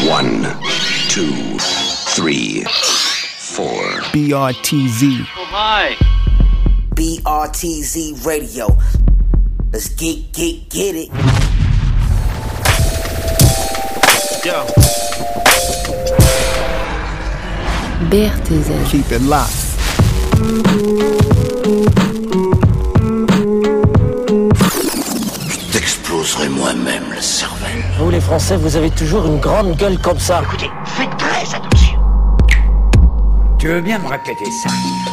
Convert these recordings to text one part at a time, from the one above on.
1, 2, 3, 4. BRTZ. Oh my. BRTZ Radio. Let's get it. Yo. BRTZ. Keep it locked. Je t'exploserai moi-même le cervelle. Vous les Français, vous avez toujours une grande gueule comme ça. Écoutez, faites très attention. Tu veux bien me répéter ça?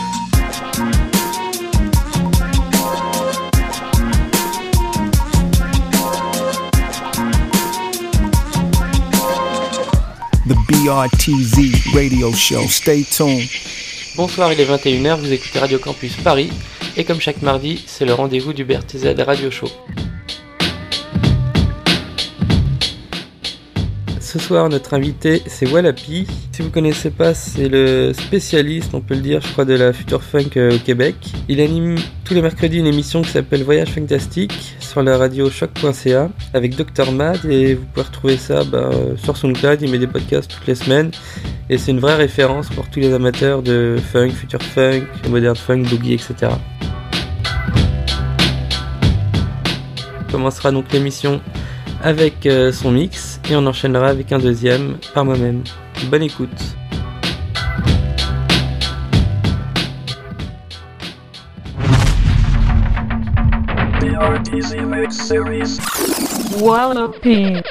The BRTZ Radio Show. Stay tuned. Bonsoir, il est 21h, vous écoutez Radio Campus Paris, et comme chaque mardi, c'est le rendez-vous du BRTZ Radio Show. Ce soir, notre invité, c'est Walapi. Si vous connaissez pas, c'est le spécialiste, on peut le dire, je crois, de la future funk au Québec. Il anime tous les mercredis une émission qui s'appelle Voyage Fantastique sur la radio choc.ca avec Dr Mad, et vous pouvez retrouver ça sur SoundCloud. Il met des podcasts toutes les semaines et c'est une vraie référence pour tous les amateurs de funk, future funk, modern funk, boogie, etc. On commencera donc l'émission avec son mix et on enchaînera avec un deuxième par moi-même. Bonne écoute. BRTZ Mix Series. Walapi.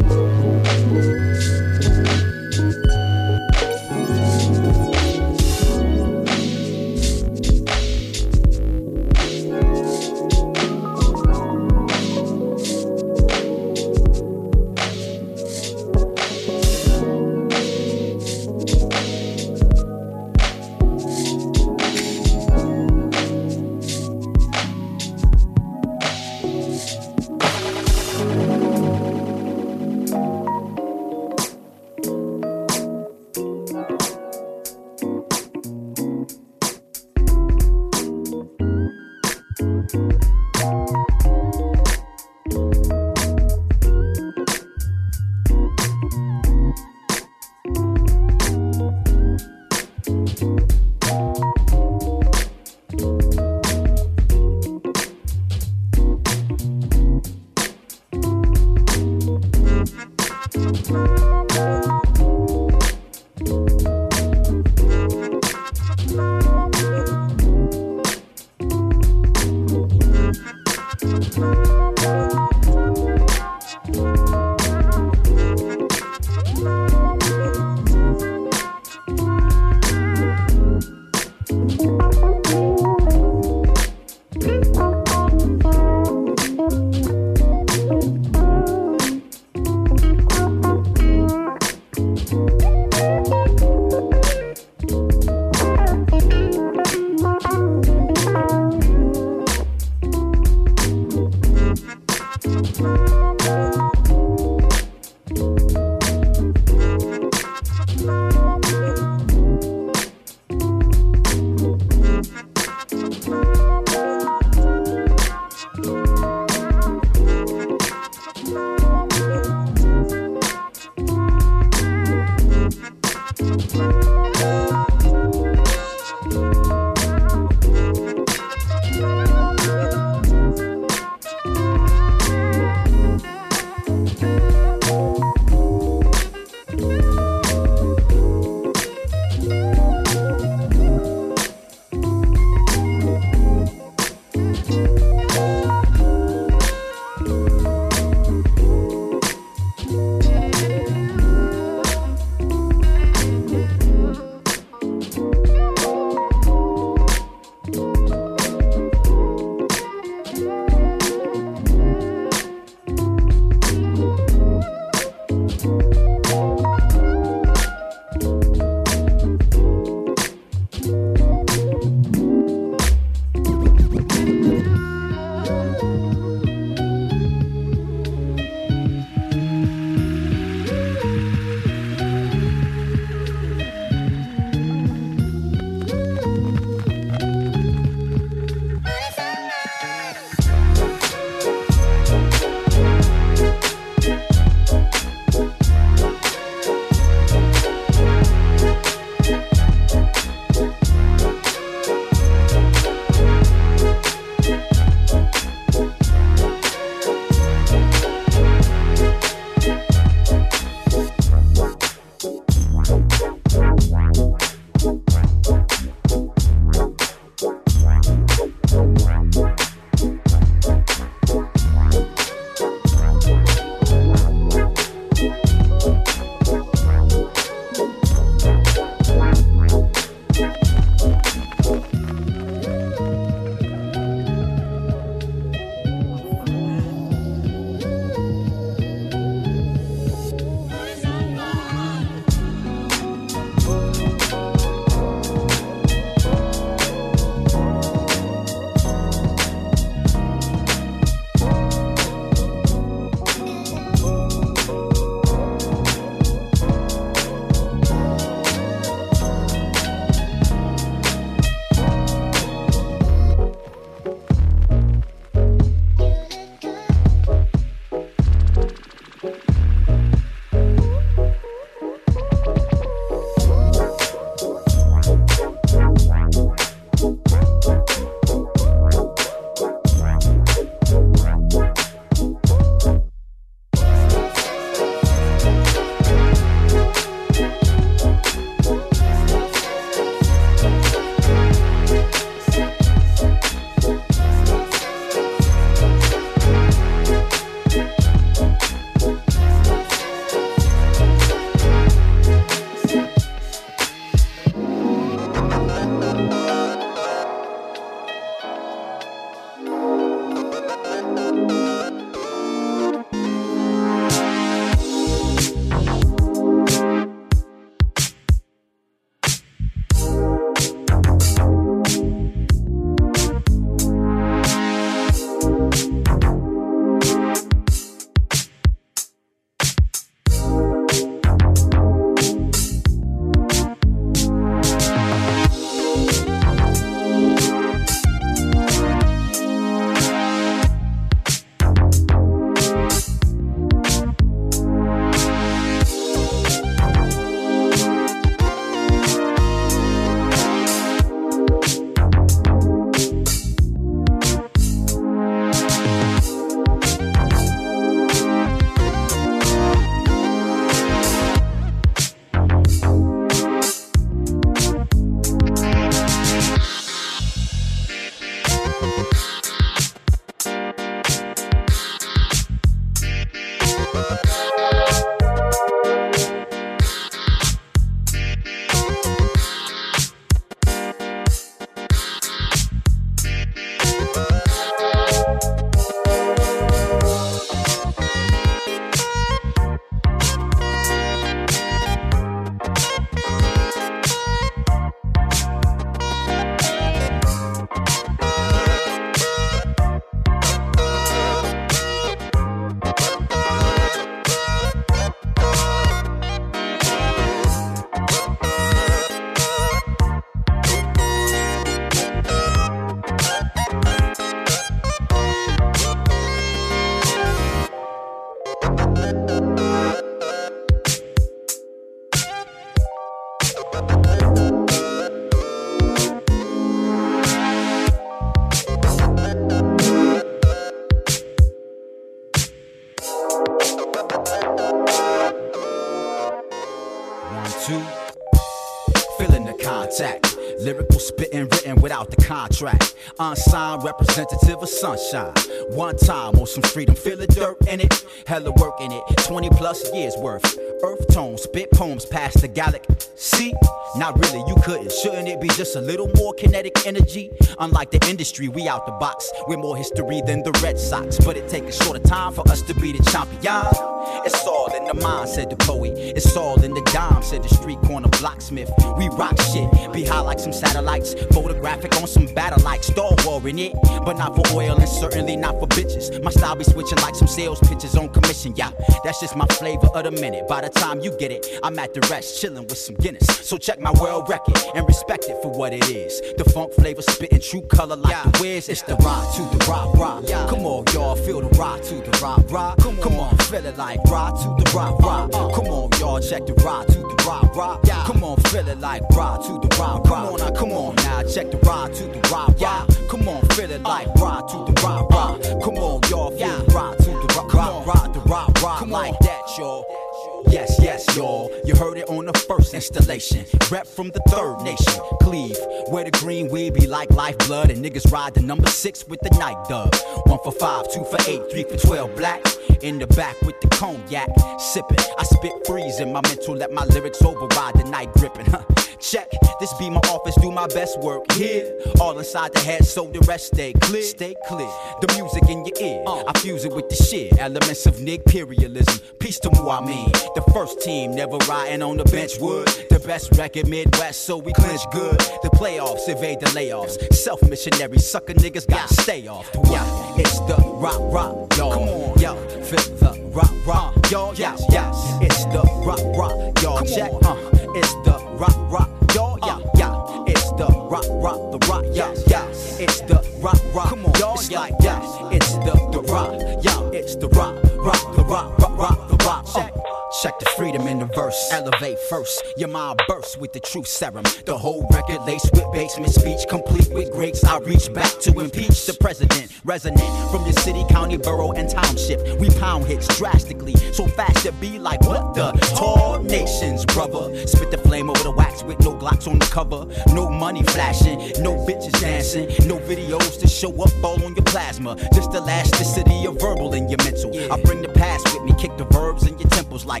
contact. Lyrical spitting written without the contract. Unsigned representative of sunshine. One time on some street, I'm feeling dirt in it. Hella work in it, 20 plus years worth. Earth tone, spit poems past the galaxy. Not really, you couldn't. Shouldn't it be just a little more kinetic energy? Unlike the industry, we out the box. We're more history than the Red Sox. But it takes a shorter time for us to be the champion. It's all in the mind, said the poet. It's all in the dime, said the street corner blacksmith. We rock shit, be high like some satellites. Photographic on some battle like Star War in it. But not for oil and certainly not for bitches. My style be switching like some sales pitches on commission, yeah. That's just my flavor of the minute. By the time you get it, I'm at the rest, chilling with some Guinness. So check my world record and respect it for what it is. The funk flavor spitting true color like the Wiz. It's the rock to the rock, rock. Come on, y'all, feel the rock to the rock, rock. Come on, feel it like rock to the rock, rock. Come on, y'all, check the rock to the rock, rock. Come on, feel it like rock to the rock, rock. Come on now, check the rock to the rock, rock. Come on, feel it like rock to the rock, rock. Come on, y'all, feel the rock to the rock, rock the rock, rock like that, y'all. Yes, yes, y'all. You heard it on the first installation. Rep from the third nation, Cleve, where the green weed be like lifeblood, and niggas ride the number 6 with the night dub. 1 for 5, 2 for 8, 3 for 12 black. In the back with the cognac, sipping. I spit freeze in my mental, let my lyrics override the night gripping. Check, this be my office, do my best work here. All inside the head, so the rest stay clear. Stay clear. The music in your ear, I fuse it with the shit. Elements of Nick-perialism. Peace to Muamin. The first team never riding on the bench would. The best record Midwest, so we clinch good. The playoffs evade the layoffs. Self-missionary sucker niggas gotta stay off. Yeah, it's the rock, rock, y'all. Come on, yo, feel the rock, rock, y'all. Yes, yes, it's the rock, rock, y'all. Check, it's the rock, rock, y'all. Yeah, yeah, it's the rock, rock, the rock, yeah, yeah. It's the rock, rock, y'all. Yeah, yeah, it's the rock, yeah, it's the rock, rock, the rock, rock, rock, the rock. Check the freedom in the verse. Elevate first. Your mind bursts with the truth serum. The whole record laced with basement speech, complete with greats. I reach back to impeach the president. Resonant from your city, county, borough, and township. We pound hits drastically, so fast to be like what the tall nations, brother. Spit the flame over the wax with no Glocks on the cover. No money flashing, no bitches dancing, no videos to show up all on your plasma. Just elasticity of verbal in your mental. I bring the past with me, kick the verbs in your temples like.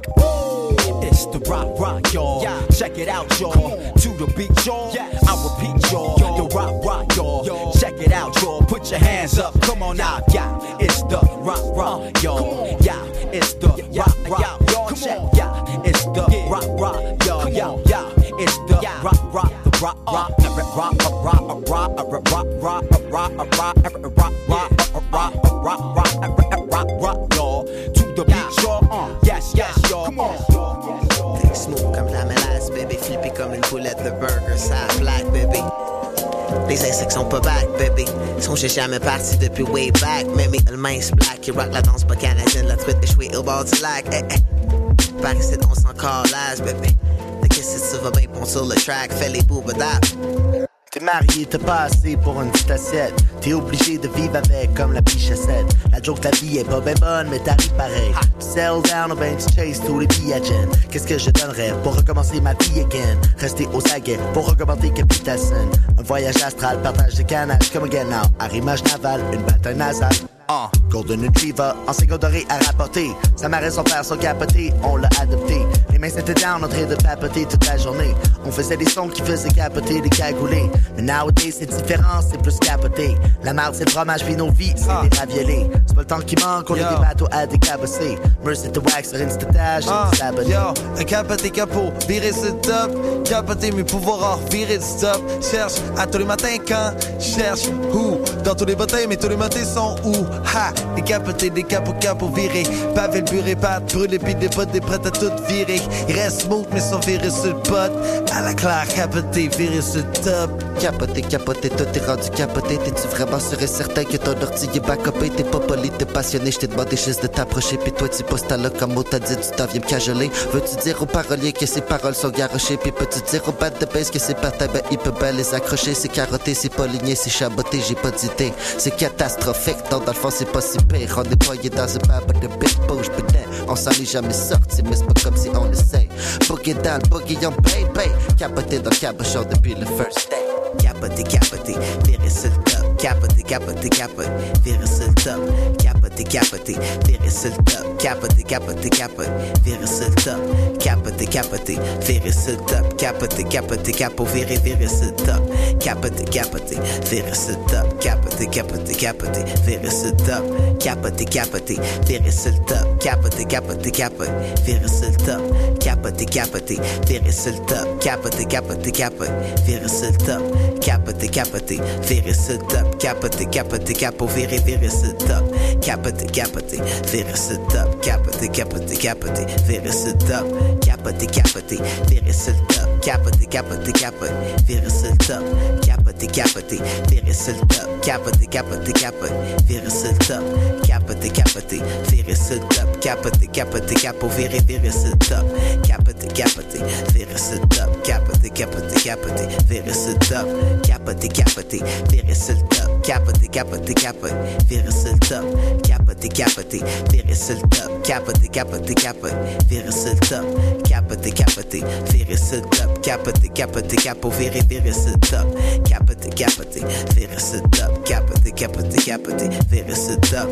It's the rock, rock, y'all. Check it out, y'all. To the beat, y'all. I repeat, y'all. The rock, rock, y'all. Check it out, y'all. Put your hands up. Come on now, yeah. It's the rock, rock, y'all. Yeah, it's the rock, rock, y'all. Check, yeah. It's the rock, rock, y'all. Yeah, yeah. It's the rock, rock, the rock, rock, rock, rock, rock, rock, rock, y'all. To the beat, y'all. Yes, yes, y'all. Come on. Smooth comme la mélasse, baby. Flippé comme une boulette de burger, ça black, baby. Les insectes sont pas back, baby. Sont j'ai jamais parti depuis way back. Mais le mince black qui rock la danse pas canadienne. La truite échouée au bord du lac. Eh, eh. Paris c'est on s'en calage, baby. De qu'est-ce que tu vas bien pondre sur le track. Fais les boubadap. T'es marié, t'as pas assez pour une petite assiette. T'es obligé de vivre avec comme la bichette. La joke, la vie est pas ben bonne, mais t'arrives pareil. Tu settle down ou ben tu chase tous les billets. Qu'est-ce que je donnerais pour recommencer ma vie again? Rester aux aguets pour augmenter Capitation. Un voyage astral, partage de canage comme again now. Arrimage naval, une bataille nasale. Golden Retriever, enseigne doré à rapporter. Sa marée, son père sont capotés, on l'a adopté. Les mains étaient down en train de papoter toute la journée. On faisait des sons qui faisaient capoter des cagoulés. Mais nowadays c'est différent, c'est plus capoté. La marde c'est le fromage puis nos vies, c'est des raviolés. C'est pas le temps qui manque, on a des bateaux à décabosser. Mercy to wax sur Instatage, c'est des abonnés. Un capoté capot, virer sur le top. Capoter mes pouvoirs, virer du stop. Cherche à tous les matins quand cherche où. Dans tous les batailles, mais tous les matins sont où. Ha! Des capotés, des capots virés. Pavé le buré, pâte, brûlé, pis des potes, des prêts à tout virer. Ils restent smooth, mais sont virés sur le pot. À la claire, capoté, viré sur le top. Capoté, tout est rendu capoté. T'es-tu vraiment sûr et certain que ton ordi est backupé? T'es pas poli, t'es passionné, j't'ai demandé juste de t'approcher. Pis toi, tu postes là comme mot, t'as dit, tu t'en viens me cajoler. Veux-tu dire aux paroliers que ces paroles sont garochées? Pis peux-tu dire aux bad de bass que c'est parti, ben il peut bien les accrocher. C'est carotté, c'est pas ligné, c'est chaboté, j'ai pas d'idée. C'est catastrophique, donc dans le fond, fond c'est pas si pire. On est poigné dans un bar de big bouge, putain. On s'en est jamais sorti, mais c'est pas comme si on essaye. Boogie dans le boogie, on baby. Capoté dans le cabochon depuis le first day. Capoté, capoté, virer sur le top. Capoté, capoté, capoté, virer sur le top. Capoté, capoté, virer sur le top. Capoté, capoté, capoté, virer sur le top. Capoté, capoté, virer sur le top. Capoté, capoté, capo, virer sur le top. Capoté, capoté, virer sur le top. Capoté, capoté, capoté, virer sur le top. Capoté, capoté, virer sur le top. Capoté, capoté, capoté, virer sur le top. Capoté, capoté, virer sur le top. Capoté, capoté, capoté, virer sur le top. Capoté, capoté, virer sur le top. Capoté, capoté, capo, virer sur le top. Capoté, capoté, virer sur le top. Capoté, capoté, capoté, virer sur le top. Capoté, capoté, virer sur le top. Capoté, capoté, capoté, virer sur le top. Capoté, capoté, virer sur le top. Capoté, capoté, capoté, virer sur le top. Capoté, capoté, virer sur le top. Capoté, capoté, capo, virer sur le top. Capoté, capoté, virer sur le top. Capoté, capoté, capoté, virer sur le top. Capoté, capoté, virer sur le top. Capoté, capoté, capoté, virer sur le top. Capoté, capoté, virer sur le top. Capoté, capoté, capoté, virer sur le top. Capoté, capoté, virer sur le top. Capoté, capoté, capo, virer sur le top. Capoté, capoté, virer sur le top. Capoté, capoté, capoté, virer sur le top.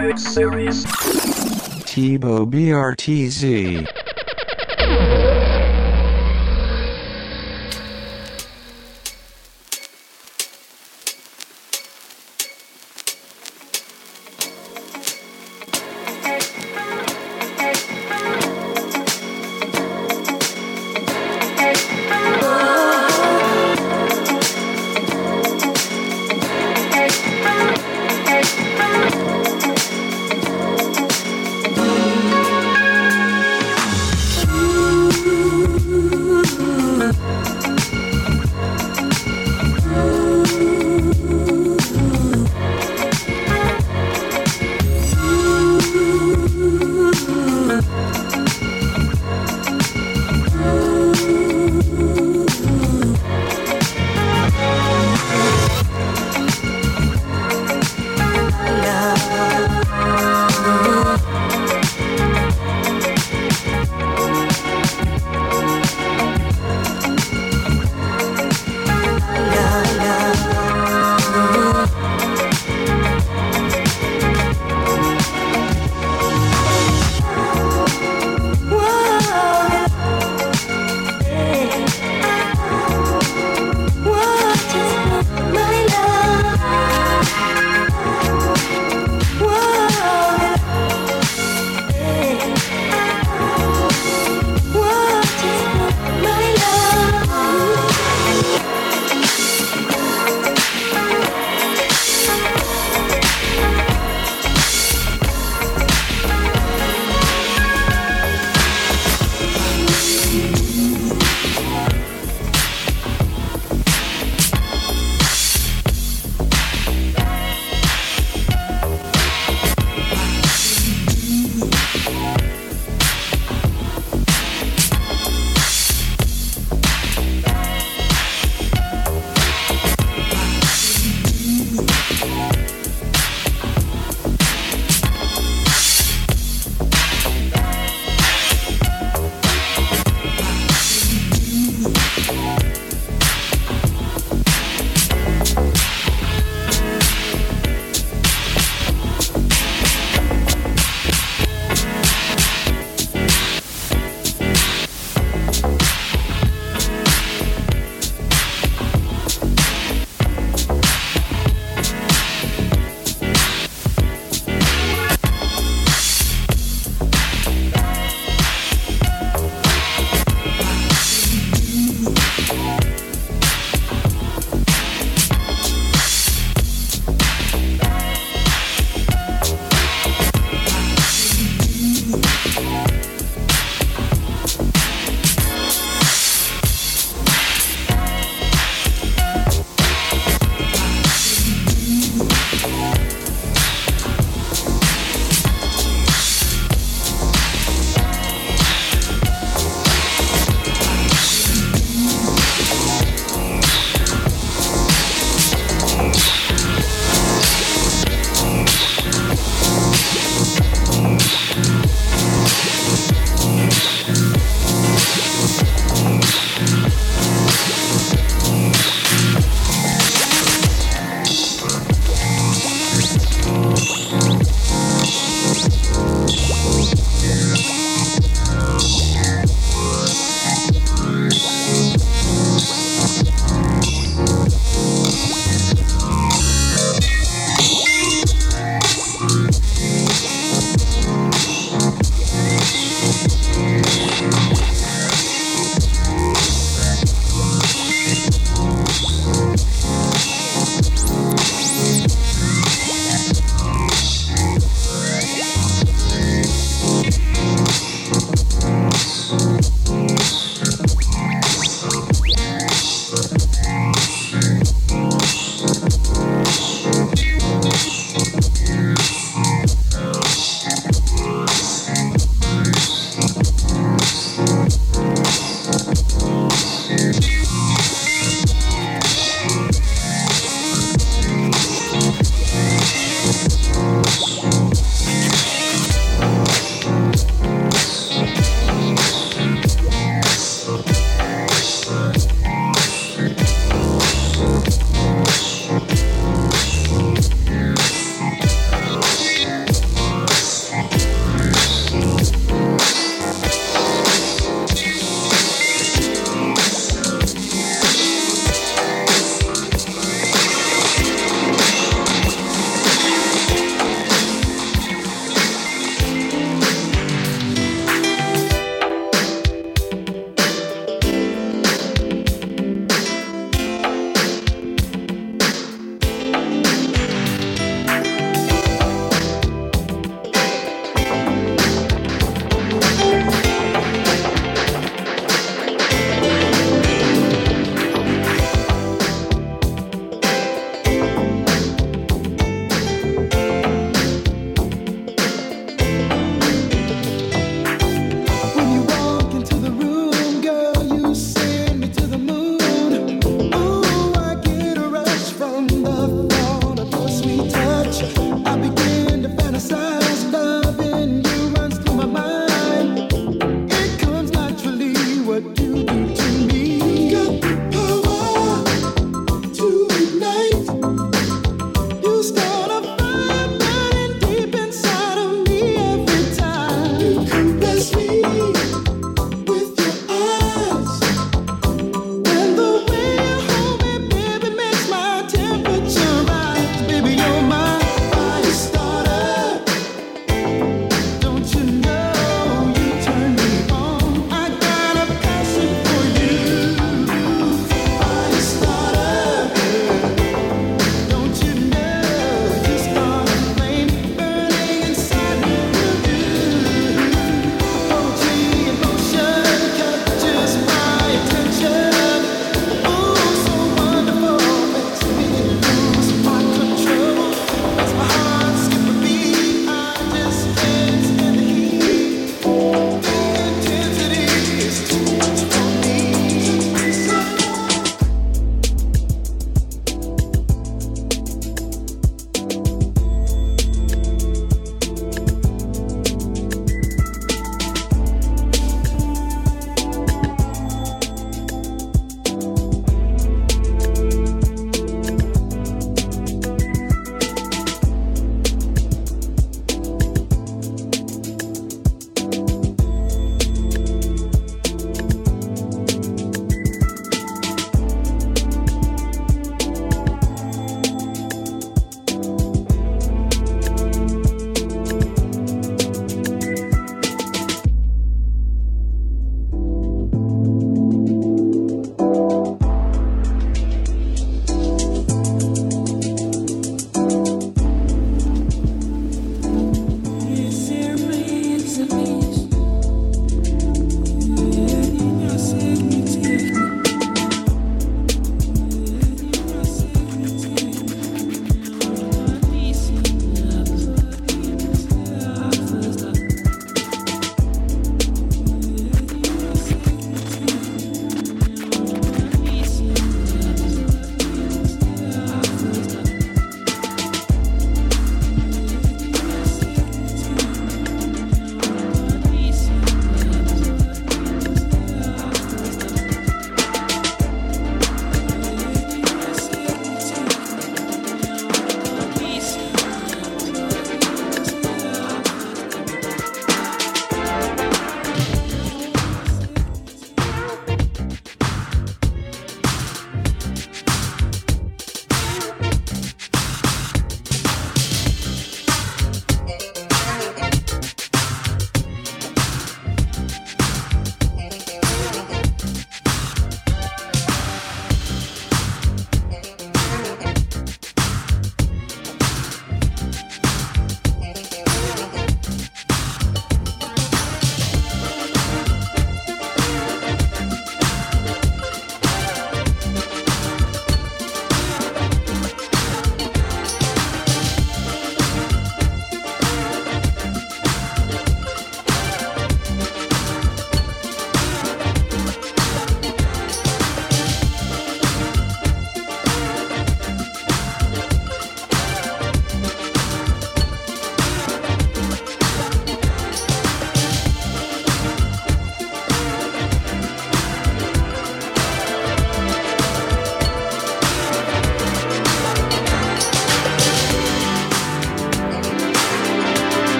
Mix Series. Tebow BRTZ.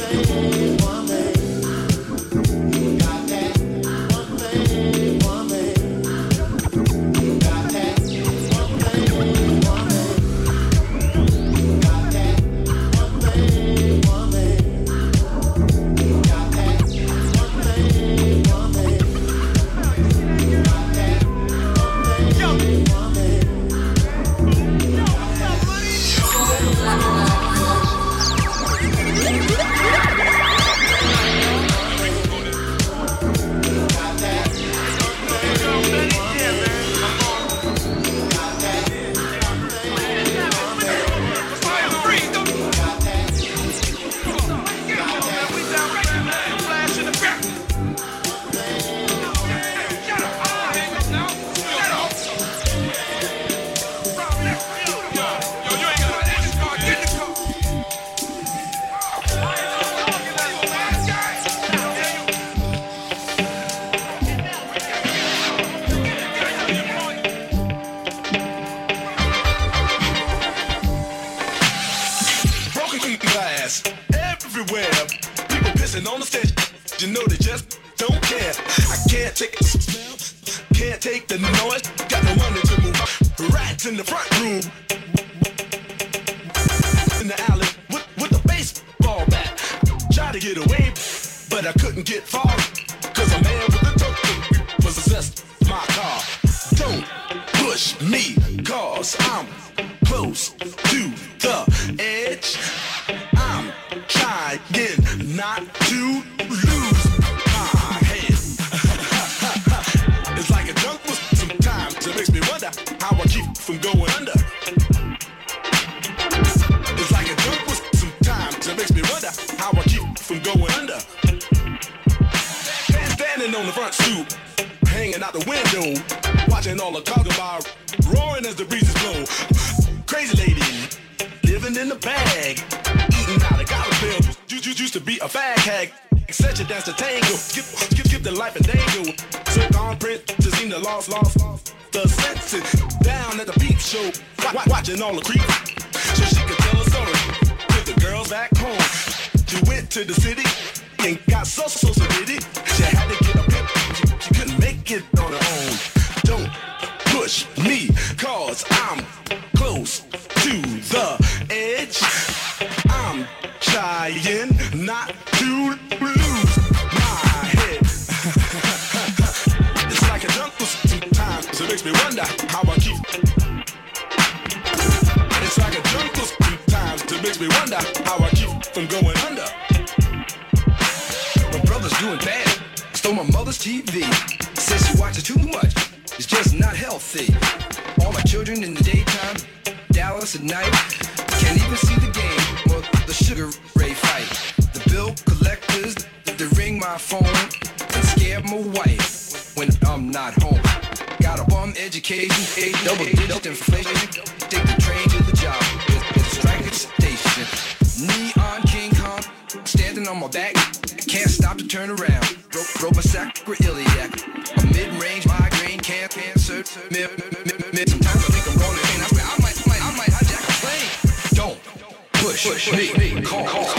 All the creep, so she could tell a story with the girls back home. She went to the city and got so did it. She had to get a pimp, she couldn't make it on her own. Don't push me, cause I'm close to the edge. I'm trying not to lose my head. It's like a jungle sometimes, it makes me wonder how I keep. It's like a jungle sometimes, it makes me wonder how I keep from going under. My brother's doing bad, stole my mother's TV. Says she watches too much, it's just not healthy. All my children in the daytime, Dallas at night. Can't even see the game or the Sugar Ray fight. The bill collectors, they ring my phone and scare my wife when I'm not home. Got a bum education, double-digit inflation. Take the train to the job, it's a striking station. Neon King Kong, standing on my back. Can't stop to turn around. Broke my sacroiliac. A mid-range migraine, cancer. Sometimes I think I'm going to pain. I swear I might hijack a plane. Don't push me. Call. Close.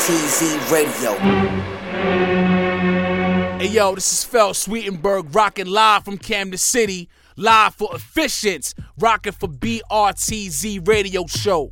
BRTZ Radio. Hey yo, this is Fel Sweetenberg rocking live from Camden City, live for Efficients, rocking for BRTZ Radio Show.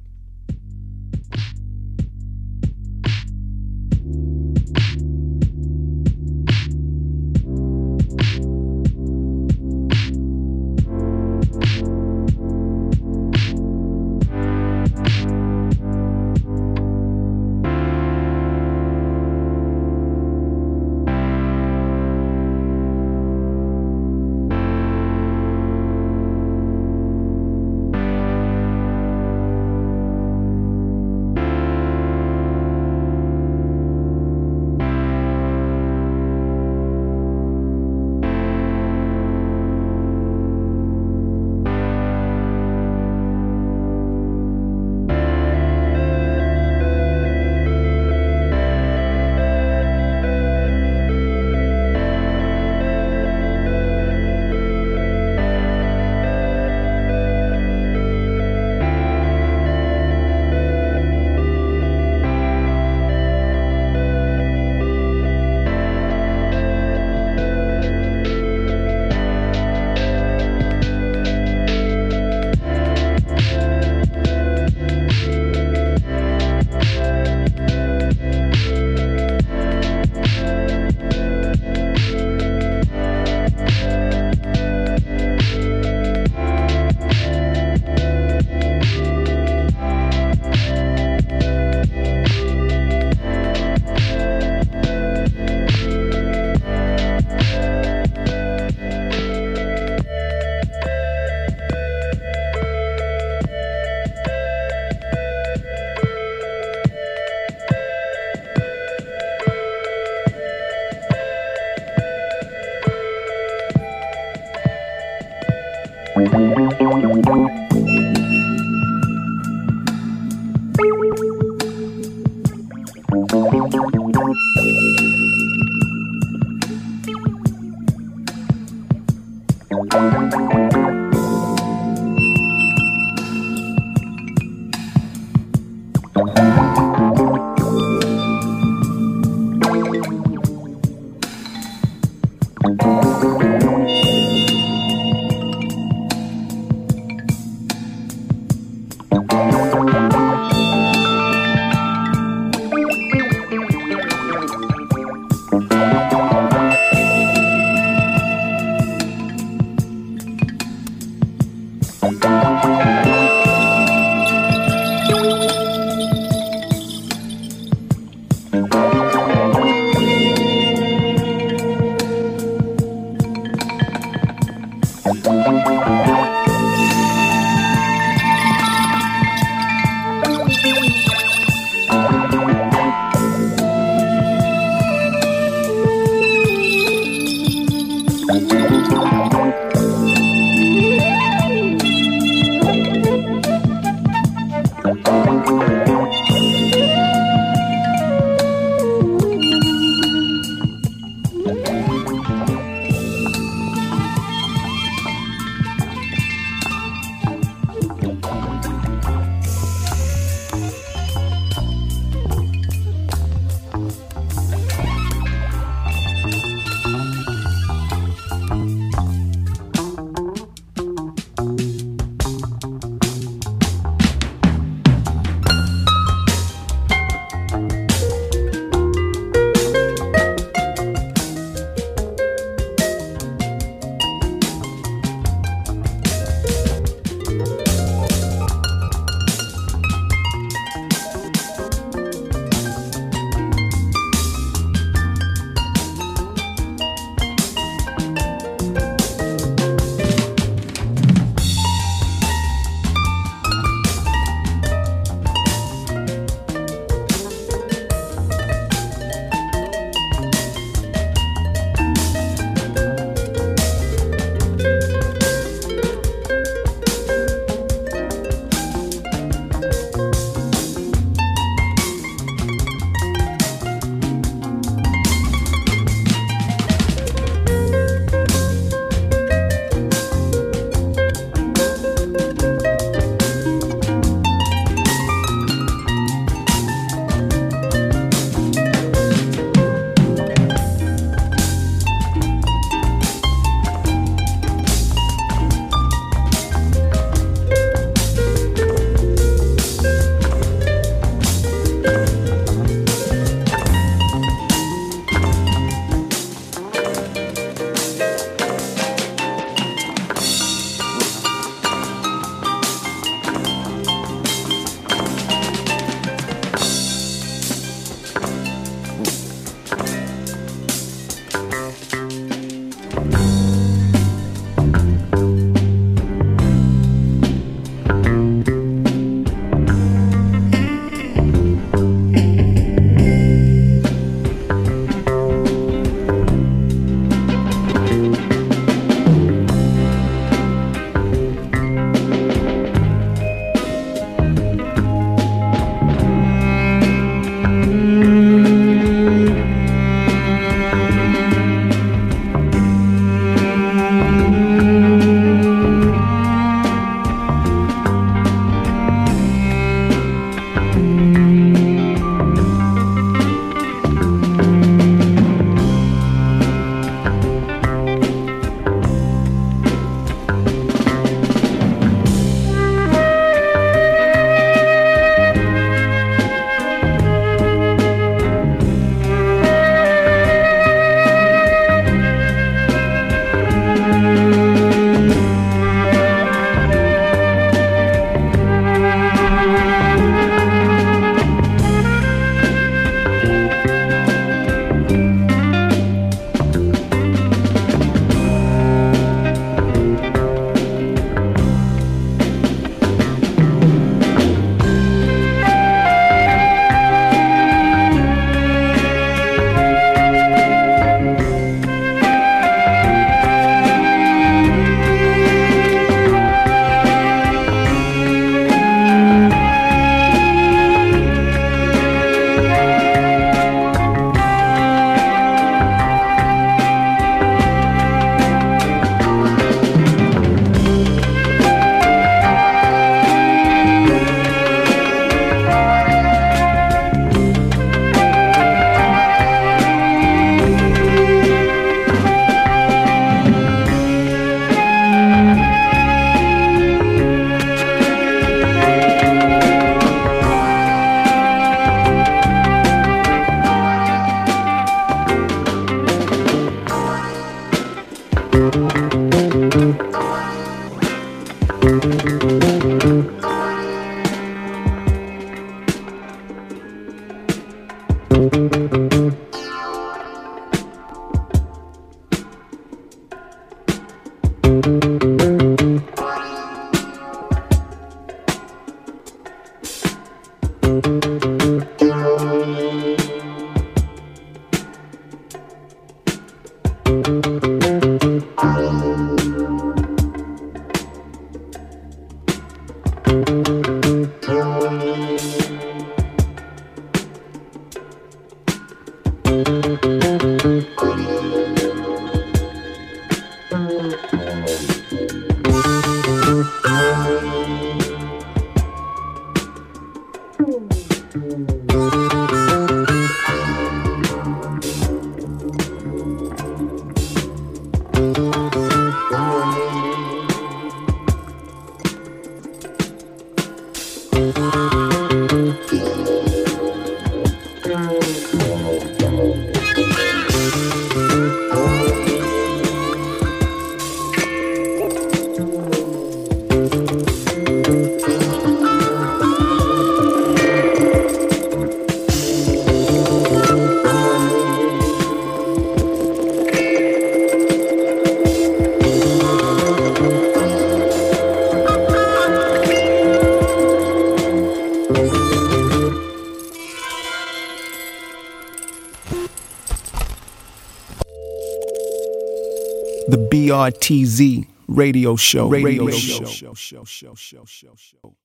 The BRTZ radio show.